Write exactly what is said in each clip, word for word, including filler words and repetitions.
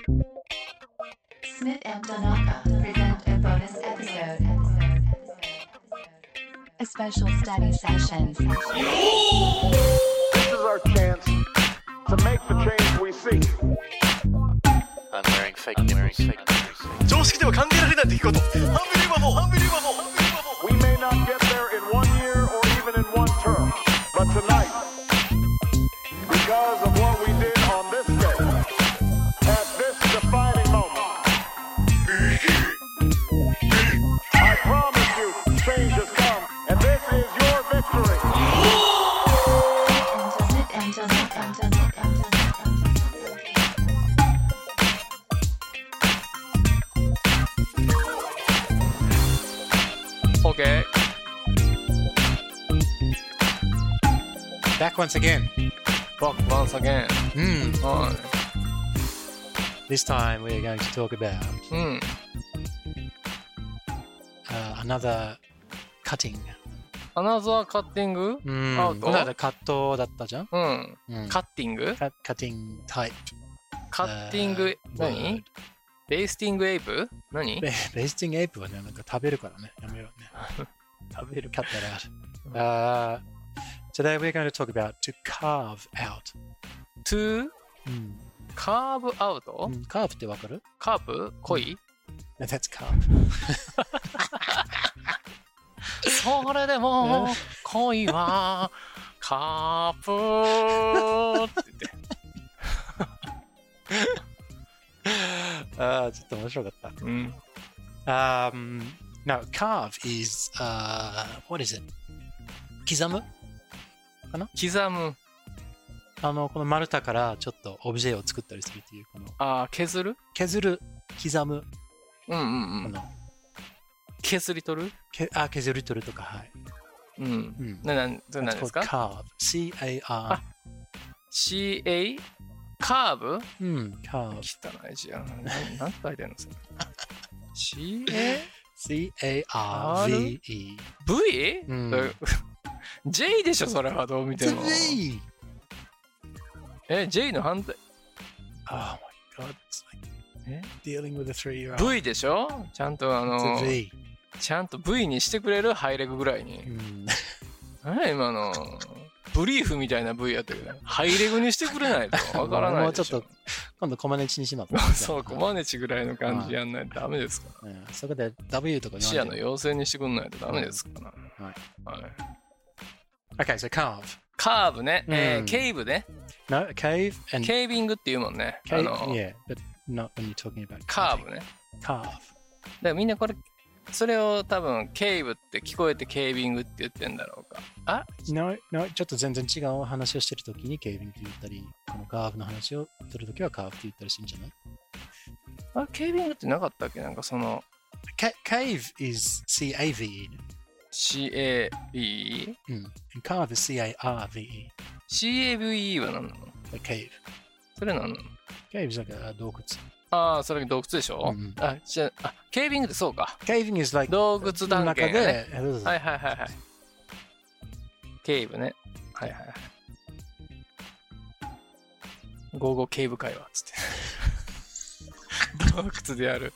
Smith and Donaka present a bonus episode. A special study session. This is our chance to make the change we seek. I'm wearing fake nipples. Fake nipples. 常識では考えられない出来事。ハンビリーバボー、ハンビリーバボー、ハンビリーバボー。 We may not get there in one year or even in one term, but tonight, because of what we did on this day, at this defining moment, I promise you, change has come, and this is your victory. And Smith and Donaka, and Smith and Okay. Back once again. Back once again. Hmm. は This time we're going to talk about い。うん。 uh, another cutting. アナザーカッティングうんアウトこの間カットだったじゃん、 うん。 うん、 カッティングカカッティングタイプ。 カッティング、何ベイスティングエイプ何ベベイスティングエイプはね、なんか食べるからね。やめようね。 食べる。 Cut that out. Uh, today we're going to talk about to carve out. to うんカーブアウト、 うんカーブってわかる？ カーブ恋、 That's carve. それでも恋はカープって言ってああ、ちょっと面白かった。 うん Um, no, carve is, uh, what is it? 刻む刻むあの、この丸太からちょっとオブジェを作ったりするっていう、このあー削る削る、刻む、 うんうんうんこの削り取るけあ削り取るとか、はい。 うん、 うんななんそれ何 That's です called か carve. C A R. あ シーエー カーブうん、carve. 汚い字やん何て書いてんのそれ シーエー C A R V E. ブイ? うん J でしょそれはどう見て It's も V! え J の反対 Oh my god, it's like え dealing with a three-year-old. V でしょちゃんとあ It's の a V. ちゃんと V にしてくれるハイレグぐらいにうん何今のブリーフみたいな V やったけどハイレグにしてくれないとわからないでしょもうちょっと今度コマネチにします。 そうコマネチぐらいの感じやんないとダメですからうんそこで W とか言視野のわないで。 要請にしてくんないとダメですから、 はいはい Okay, so carve. カーブね、えーうんケイブね No, cave and ケイビングっていうもんねあ cave. の Yeah, but not when you're talking about カー carving. ブね Carve. だからみんなこれそれを多分ケイブって聞こえてケイビングって言ってんだろうかあ No, no, ちょっと全然違う話をしてるときにケービングって言ったり、このカーブの話をするときはカーブって言ったりするんじゃない？ あケイビングってなかったっけなんかその Ca- Cave is C A V E. シーエービーうん。And carve is C A R V E. シーエーブイ は何なの Like cave. それ何なの Cave is like a 洞窟。 ああそれ洞窟でしょ、 うんあじゃああケイビングってそうか Caving is like 洞窟探中検やねで、そうそうそうはいはいはいはいケイブねはいはいはいゴーゴーケイブ会話っつって洞窟でやる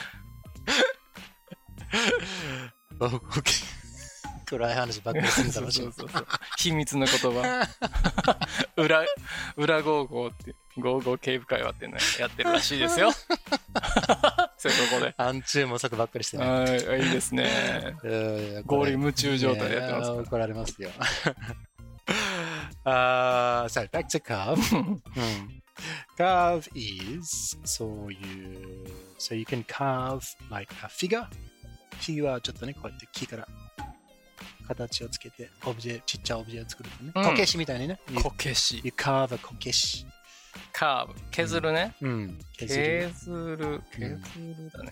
お OK 暗い話ばっかりするんだろうしそうそうそう秘密の言葉裏裏ゴーゴーってゴーゴーケイブ会話っていうのやってるらしいですよそこで暗中模索ばっかりしてね。 はいいいですねうん合理夢中状態でやってますからいや怒られますよ。uh, so back to carve. うん Carve is そういう so you can carve like a figure. フィギュアはちょっとねこうやって木から形をつけてオブジェちっちゃいオブジェを作るとね、 うんこけしみたいにね。You, こけし you carve a こけし。 カーブ削るね、 うん。削る。 削る削るだね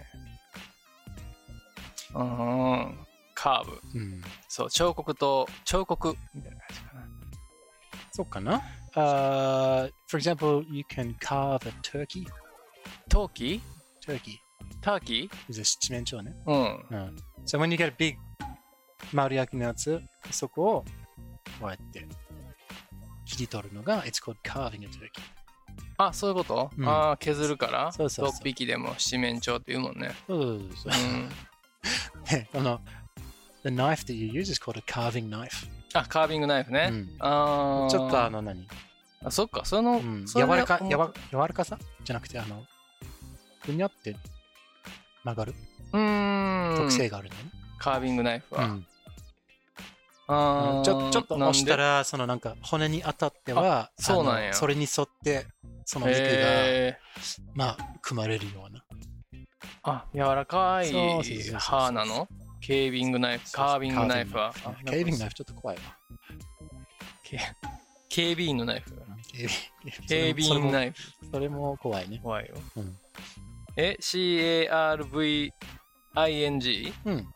うんカーブうん。 そう彫刻と彫刻みたいな感じかなそうかな。Uh, for example, you can carve a turkey. 陶器 Turkey ターキ is a 七面鳥ね。 ーうんうん。So when you get a big 丸焼きのやつ、そこをこうやって切り取るのが It's called carving a turkey. あ、そういうこと、 うんああ、削るからそうそうそうろっぴきでも七面鳥って言うもんね。 そうそうそうそううん。 でこの The knife that you use is called a carving knife、 あ、カービングナイフね。 うんああ。 ちょっとあの何、 あ、そっか、その、 うん、 それで柔らか思っやわ柔らかさじゃなくてあのふにゃって曲がるうーん。 特性があるんだね、 カービングナイフは。 うんあーちょちょっと押したらそのなんか骨に当たってはそうなんやあのそれに沿ってその肉が、 へまあ組まれるような、 ーあ、柔らかいそうそうそうそう刃なのケービングナイフ、カービングナイフは。あケービングナイフちょっと怖いわ。 ケ警備員のナイフ。 警備警備員ナイフ。 それも怖いね。 怖いよ。 うんえ、シーエーアールブイアイエンジー? うん。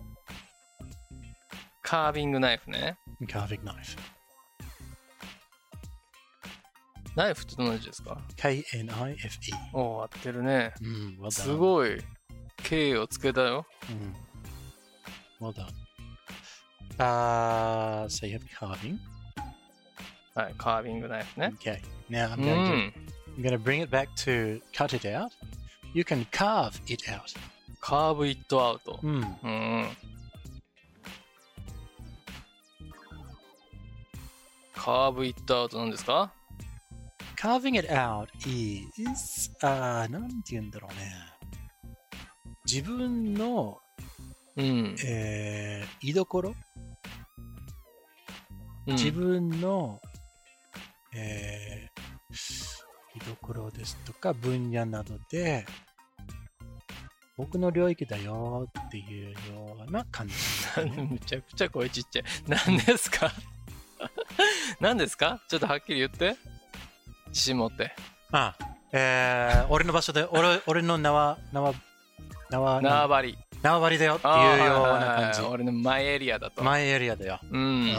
カービングナイフね。 カービングナイフ。 ナイフってどんな字ですか？ ケーエヌアイエフイー。 おー、合ってるね。 うん、well done. すごい。K をつけたよ。 うん。well done. Uh, so you have carving. はい、カービングナイフね。 Okay. Now う I'm going to, ん。 I'm going to bring it back to cut it out. You can carve it out. カーブイットアウト。 うん。 うん。カーブイットアウトなんですか？ Carving it out is, あーなんて言うんだろうね。自分の、 うん。 えー、居所、 うん自分の、えー、居所ですとか分野などで僕の領域だよっていうような感じなんだね、 めちゃくちゃ声ちっちゃい。何ですか？何ですか？ちょっとはっきり言って。自信持って。 ああ、えー、俺の場所で俺俺の縄縄縄縄張り。 縄張りだよっていうあーようはいはいはいな感じ。 俺のマイエリアだと。 マイエリアだよ。 うん。 うん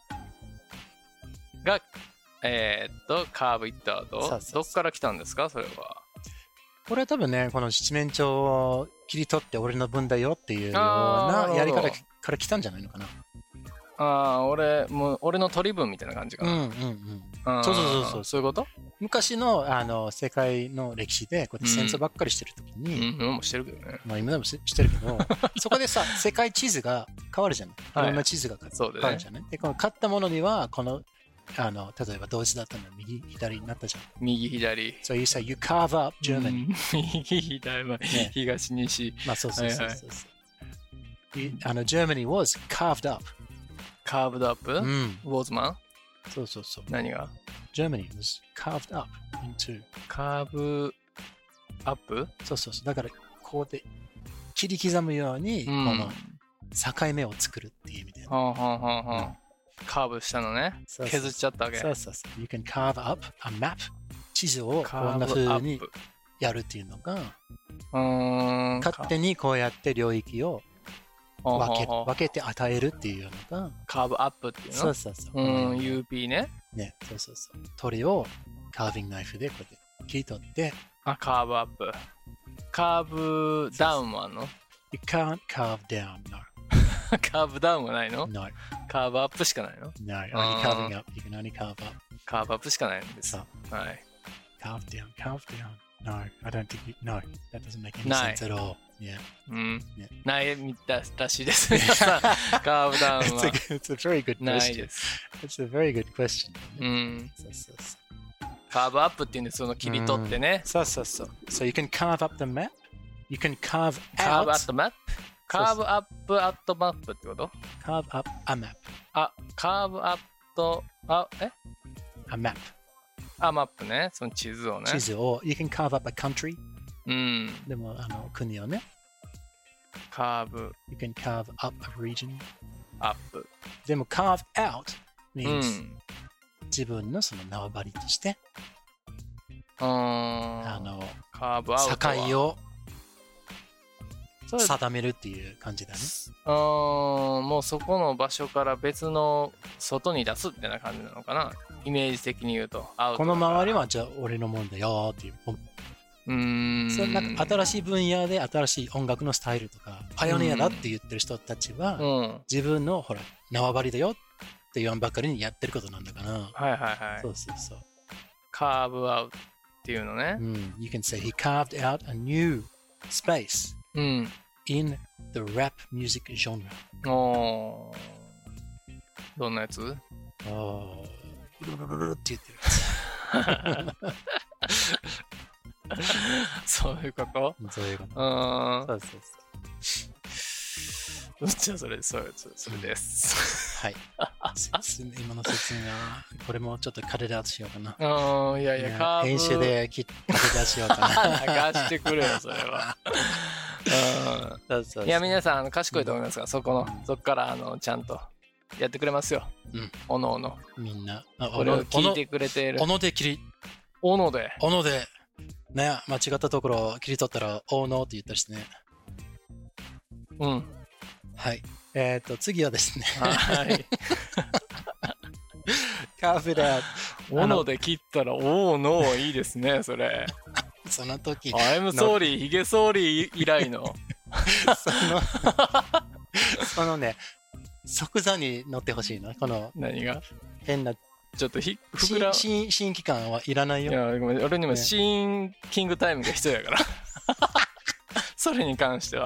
が、えーっと、カーブイットアウト。 そうそうそうどっから来たんですかそれは。 これは多分ね、この七面鳥を切り取って俺の分だよっていうようあーなるほどなやり方から来たんじゃないのかな。 ああ、俺、もう、俺の取り分みたいな感じかな。 うんうんうん。 うんそうそうそうそうそういうこと？ 昔のあの世界の歴史でこうやって戦争ばっかりしてるときうに、 ん、うん、もうしてるけどね。 まあ今でもししてるけど、そこでさ、世界地図が変わるじゃない。いはいろんな地図が変そうだねわるじゃない。で、この買ったものには、この、あの、例えばドイツだったの右、左になったじゃん。 右、左。 So you say you carve up う Germany. ん右、左、まあね東、西。 まあそうそうそうはいそうそう。You- あの、Germany was carved up. カーブドアップ、 うん。 ウォーズマンそうそうそう。 何が Germany was carved up into. カーブアップ、 そうそうそう。だから、こうで切り刻むように、 うん、 この境目を作るっていう意味で。 はんはんはんはん。カーブしたのね。 そうそう削っちゃったわけ。 そうそうそう。You can carve up a map. 地図をカこんなーブア風にップ。 やるっていうのが、 うーん。 勝手にこうやって領域を分けはんはんはん分けて与えるっていうのが、 カーブアップっていうのそうそうそう。 うん、ユーピー ね。 ね、そうそうそう。鳥をカービングナイフでこうやって切り取って、 あ、カーブアップ。カーブダウンもあんの？ You can't carve down, no. カーブダウンはないの？ No, カーブアップしかないの？ no. Only あー carving up. You can only carve up. カーブアップしかないんです。 そう。 はい。 Carve down, carve down. No, I don't think you, no. That doesn't make any ない sense at all. Yeah. うんね。 ないみたらしいです。皆さん、カーブダウン It's は a, it's a very good ない question. です。 It's a very good question. うん。 そうそうそう。 カーブアップっていうんです、その切り取ってね。 そうそうそう。So you can carve up the map. You can carve カー out. ブアットマップカーブアップアットマップってこと？ Carve up a map. あ、カーブアット、あ、え A map. あ、マップね。その地図をね。 地図を、You can carve up a country. うん。 でも、あの、国をね。 カーブ You can carve up a region. アップ。 でも、carve out う means、 ん。 自分のその縄張りとして、 うーん。 あの、 カーブアウトは。 境をそれ定めるっていう感じだね。 うーん、もうそこの場所から別の外に出すってな感じなのかな。イメージ的に言うと。アウトこのだから周りはじゃあ俺のもんだよっていう。 うーん。 それなんか新しい分野で新しい音楽のスタイルとか、パイオニアだって言ってる人たちは、 うん。 自分のほら縄張りだよって言わんばかりにやってることなんだから、 はいはいはい。 そうそうそう。 カーブアウト。 っていうのね。 うん、you can say he carved out a new space うん。 in the rap music genre. おー。どんなやつ？ あーブルルルルルって言ってる。 そういうこと？ そういうこと。 うーん。 そうそうそう。 じゃあそれ、それ、それそれです。 はい。説明今の説明は、これもちょっとカットアウトしようかな。 うん、いやいや、 ねカーブ。 編集で切カットアウトしようかな。 流してくれよ、それは。 そうそうそううん、いや、皆さん、あの賢いと思いますが、そこの、そこから、あの、ちゃんとやってくれますよ。 うん。 おのおの。 みんな。あこれを聞いてくれているお。ので切り、 おので。 おので、ね、間違ったところを切り取ったら、おのって言ったりしてね。 うん。 はい。えっ、ー、と、次はですね。 はい。 カーフェア。 おので切ったら、おのいいですね、それ。 その時、 I'm sorry、ヒゲソーリー以来の。 その、そのね、即座に乗ってほしいの。この何が変な、 ちょっとひ膨ら新新規感はいらないよ。 いや、ごめん、俺にもねシーンキングタイムが必要やから。それに関しては。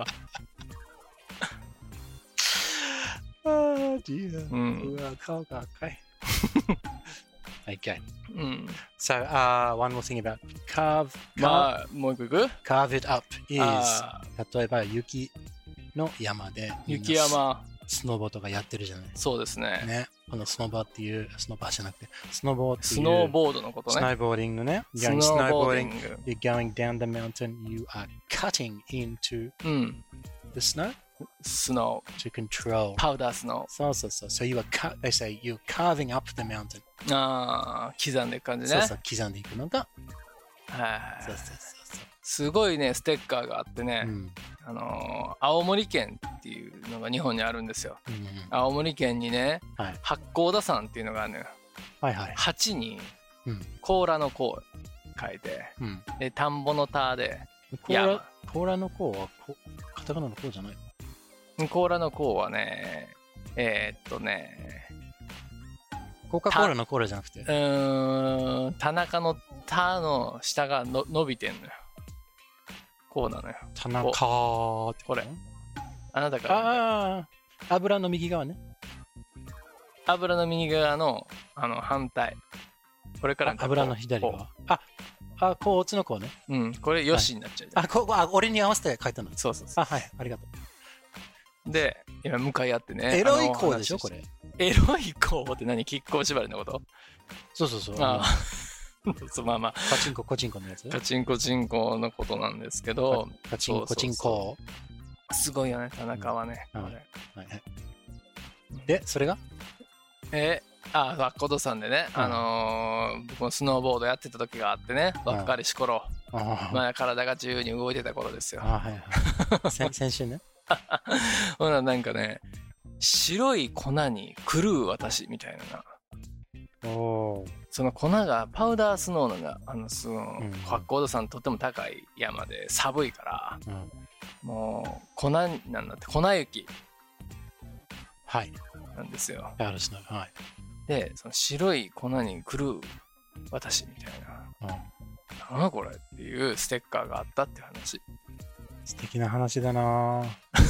あー、ディア。 うん。 うわ、顔が赤い。Okay. うん。 So, uh, one more thing about carve, carve, まあ、もう一個いく carve it up is, あ例えば雪の山で、みんな雪山。 スノボとかやってるじゃない。 そうですね。 ね。このスノボっていう、スノバじゃなくて、スノボっていう。 スノーボードのことね。 スノーボーディングね。 スノーボーディング。 You're going down the mountain, you are cutting into うん。 the snow スノ to control. ー。パウダースノそうそうそう。So you are cut, they say you're carving up the mountain. ー。ああ、刻んでいく感じね。 そうそう、刻んでいくのが。 はい。 そうそうそうそう。 すごいね、ステッカーがあってね、 うんあのー青森県っていうのが日本にあるんですよ。 うんうん、 青森県にね、 はい八甲田山っていうのがあるのよ。 はいはい。 八にうん甲羅の甲書いて、 うん。 で田んぼの田で甲羅山、 甲羅の甲はこカタカナの甲じゃない。 甲羅の甲はね、えー、っとね、 コカ・コーラのコーラじゃなくてう。ーん、田中の田の下がの伸びてんのよ。こうなのよ。 田中ってここれあなたからああ、油の右側ね。 油の右側のあの反対。これからこう油の左こ側。あ、あ、こうつのこうね。 ううん、これよしになっちゃうじゃん。 あ、こう、あ、俺に合わせて書いたの。 そうそうそあ、はい、ありがとう。で、今向かい合ってう。 ね。 エロいあのこうでしょ、 話これ。 エロい子って何？亀甲縛りのこと？ そうそうそう。 ああそうまあまあ、 パチンコ、コチンコのやつ。 カチンコチンコのことなんですけど、 パチンコ、チンコ。 すごいよね、田中はね。 うんこれはいはい。で、それがえあ、バッコドさんでね、 うんあのー僕もスノーボードやってた時があってね、若かりし頃、 あまあ体が自由に動いてた頃ですよ。 あ、はいはい。先先週ね。 ほな、なんかね、白い粉に狂う私みたいな。 おー。 その粉がパウダースノーのが、あの、そのうん、 八甲田山とっても高い山で寒いから、 うん。 もう粉なんだって、粉雪はい。 なんですよ。 パウダースノー。はい。 で、その白い粉に狂う私みたいな。 うん。 なんだこれっていうステッカーがあったっていう話。 素敵な話だなぁ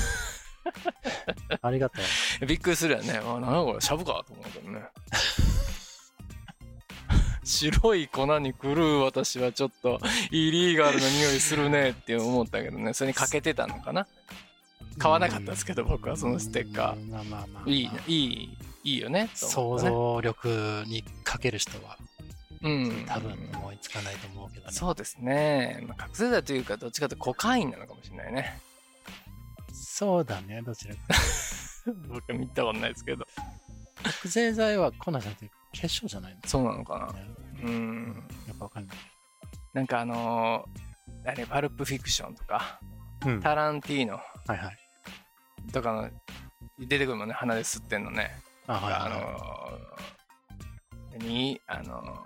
ありがとう。 びっくりするよね。あ、なんだこれ、シャブかと思うけどね。白い粉に狂う私はちょっとイリーガルな匂いするねって思ったけどね。それにかけてたのかな。買わなかったですけど、僕はそのステッカうんまあまあまあまあー。いいね、いい、いいよね。と思想ったね像力にかける人はうん。 多分思いつかないと思うけどね。 そうですね。まあ、覚醒剤というか、どっちかというとコカインなのかもしれないね。 そうだね、どちらか。 僕は見たことないですけど。 覚醒剤は粉じゃなくて結晶じゃないの、 そうなのかな。 ね、 うん。 やっぱわかんない。 なんかあのー、あれ、パルプフィクションとか、 うん。 タランティーノはいはい。 とかの出てくるもんね、鼻で吸ってんのね。 あ、はいはい、 あのー、に、あのー、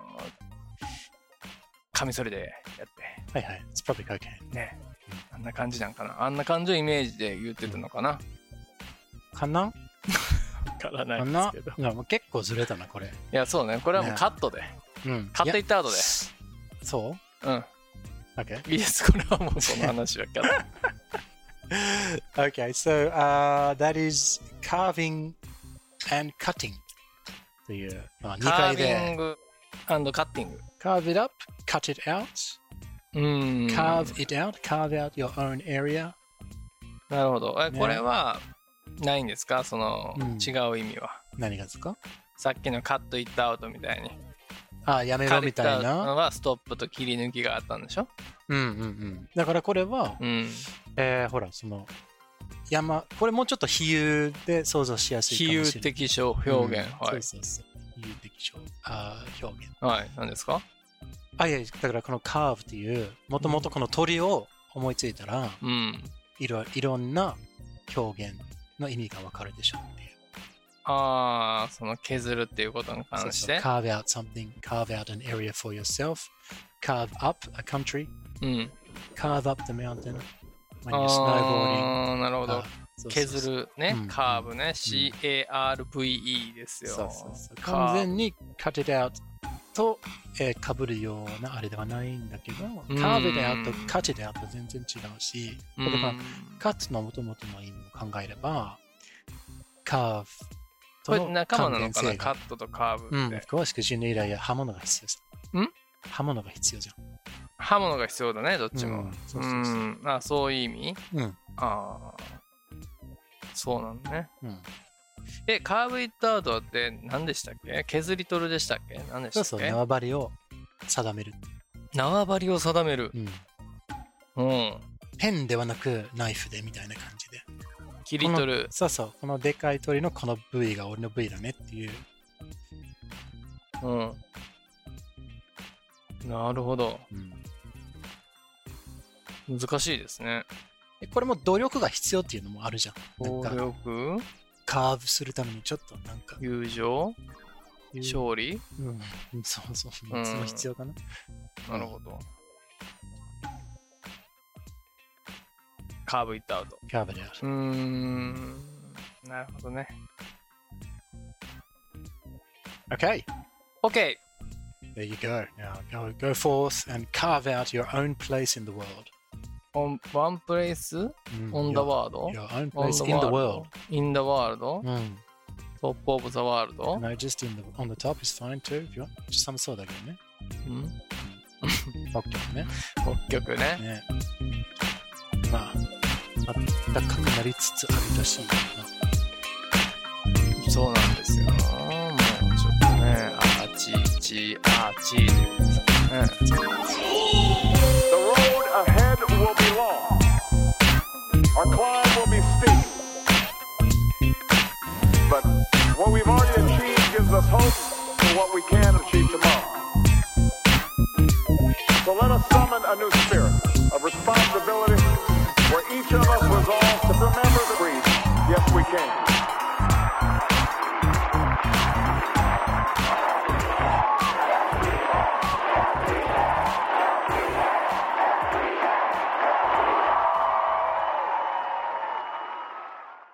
カミソリでやって、 はいはい。It's probably cocaine. ね、あんな感じなんかな。あんな感じのイメージで言ってたのかな。 かなわからなかいでなすけど。いいやもう結構ずれたな、これ。 や、そうね。これはもうカットで。 うん。 カットイットアウトで。 そううん。 Okay. いいです、これはもうその話はキャット。 Okay, so uh, that is carving and cutting という、まあ、にカかいービンでグ&カッティング。 carve it up, cut it out, うーん。 carve it out, carve out your own area. なるほど。え、 ねこれはないんですか、その、 うん違う意味は。 何がですか？ さっきのカットイットアウトみたいに。 あ、やめろみたいカットイットアウトな。 のはストップと切り抜きがあったんでしょ。 うんうんうん。だからこれは、 うん。 えー、ほら、その、山、これもうちょっと比喩で想像しやすい比かもしれない。 喩的表現、 うんはい。 そうそうそう。比喩的表あー表現。 はい、何ですか？ あ、いや、だからこのカーブっていう、もともとこの鳥を思いついたら、 うん。 いろいろんな表現の意味がわかるでしょっていう。 ああ、その削るっていうことに関して。 そうそう carve out something, carve out an area for yourself, carve up a country, うん。 carve up the mountain when you're snowboarding. ああ、なるほどあ。そうそうそう削るね、 うんカーブね、シーエーアールブイイー ですよ。 そうそうそうカーブ完全に cut it out と、えー、かぶるようなあれではないんだけど、 ん carve it out と cut it out と全然違うし、 う例えばん cut の元々の意味を考えれば、carve ことれの仲間なの関連性がかな、カットとカーブうん、 って。 of course, because you need a 刃物が必要さ。 ん刃物が必要じ刃物が必要だね、どっちも。 うんうそうそうそうん。あ、そういう意味。 ゃん。うん。 ああ。そうなんだね。 うん、 え、カーブイットアウトって何でしたっけ？削り取るでしたっけ？何でしたそうそう、 っけ？ 縄張りを定める。 縄張りを定める。 うん。 うん。 ペンではなくナイフでみたいな感じで。 切り取る。 そうそう、このでかい鳥のこの部位が俺の部位だねっていう。 うん。なるほど。 うん、 難しいですね。 えこれも努力が必要っていうのもあるじゃん。なん暴か力、 カーブするためにちょっとなんか。 友情、勝利。 うん、そうそう、 うんいつも必要かな。 なるほど。カーブイットアウト。 カーブである。 うーん。なるほどね。 Okay, OK! there you go. Now go, go forth and carve out your own place in the world. On one place うん on the your, world? your own On place in the world. In the world? うん。 Top of the world? No, just in the, on the top is fine too, if you want. 寒そうだけどね。 うん北極ね。 北極ね。 ね。まあ、暖かくなりつつあるらしいな。 そうなんですよ。もうちょっとね、あーちーちー、あーちーってね。 The road ahead will be long. Our climb will be steep. But what we've already achieved gives us hope for what we can achieve tomorrow.